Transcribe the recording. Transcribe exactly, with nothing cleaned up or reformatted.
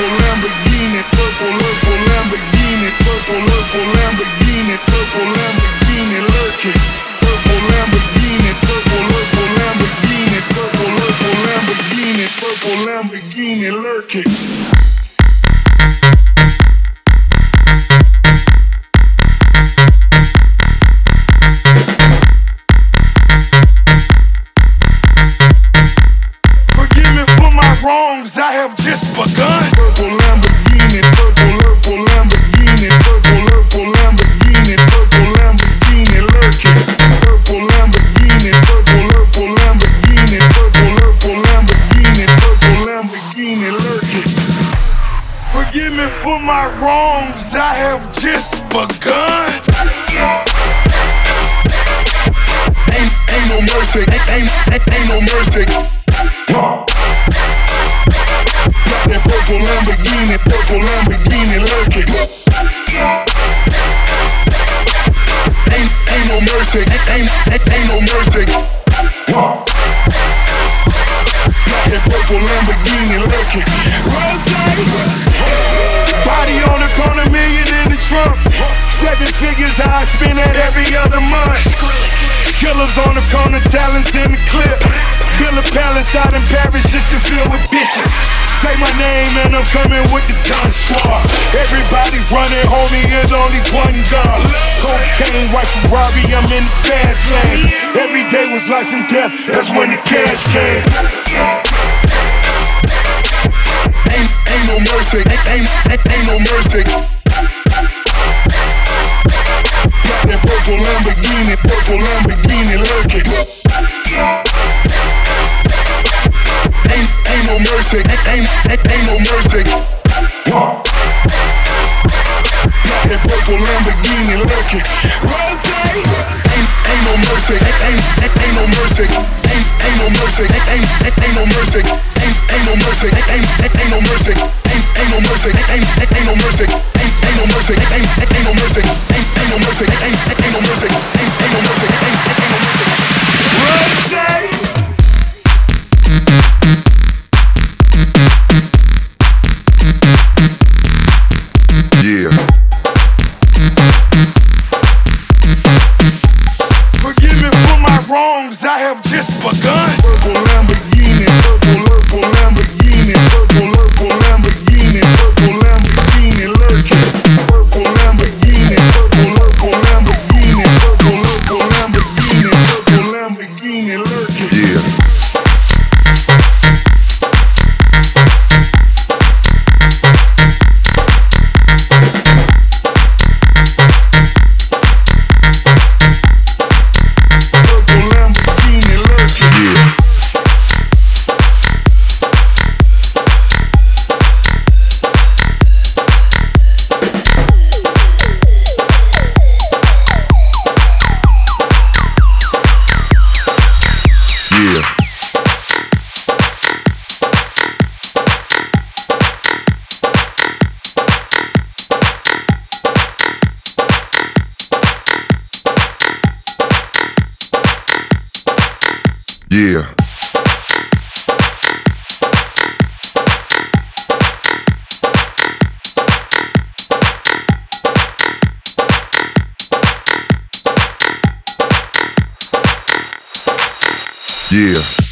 purple Lamborghini, purple, purple Lamborghini, purple, purple Lamborghini, purple Lamborghini lurking. Purple Lamborghini, purple, purple Lamborghini, purple, purple Lamborghini, purple Lamborghini lurking. Wrongs I have just begun. Purple Lamborghini, purple, purple Lamborghini, purple, purple Lamborghini, purple Lamborghini lurking. Purple Lamborghini, purple, purple Lamborghini, purple, purple Lamborghini, purple Lamborghini lurking. Forgive me for my wrongs, I have just begun. Ain't, ain't no mercy, ain't, ain't, ain't no mercy. Huh. That purple Lamborghini, purple Lamborghini lurking. Ain't, ain't no mercy, ain't, ain't, ain't no mercy. Huh. That purple Lamborghini lurking. Body on the corner, million in the trunk. Seven figures I spend that every other month. Killers on the corner, talents in the clip. Build a palace out in Paris just to fill with bitches. Say my name and I'm coming with the gun squad. Everybody running, homie, is only one gun. Cocaine, white Ferrari, I'm in the fast lane. Every day was life and death, that's when the cash came. Ain't, ain't no mercy, ain't, ain't, ain't, ain't no mercy. That purple Lamborghini, purple Lamborghini lurking. Ain't, ain't no mercy, ain't, ain't, ain't, ain't no mercy. Huh. That purple Lamborghini lurking. Ain't, ain't no mercy, ain't, ain't, ain't, ain't no mercy. Ain't, ain't no mercy, ain't, ain't, ain't, ain't no mercy. Ain't, ain't no mercy, ain't, ain't, ain't, ain't no mercy. Ain't, ain't no mercy, ain't, ain't, ain't, ain't no mercy. Ain't, ain't no mercy, ain't, ain't, ain't no mercy. Ain't, ain't no mercy, ain't, ain't, ain't no mercy. Ain't, ain't no mercy, ain't, ain't, ain't no mercy. Yeah. Forgive me for my wrongs, I have just begun. Purple Lamborghini, purple, purple Lamborghini, purple, purple Lamborghini, purple Lamborghini lurking. Purple Lamborghini, purple, purple Lamborghini, purple, purple Lamborghini, purple Lamborghini lurking. Yeah. Yeah. Yeah.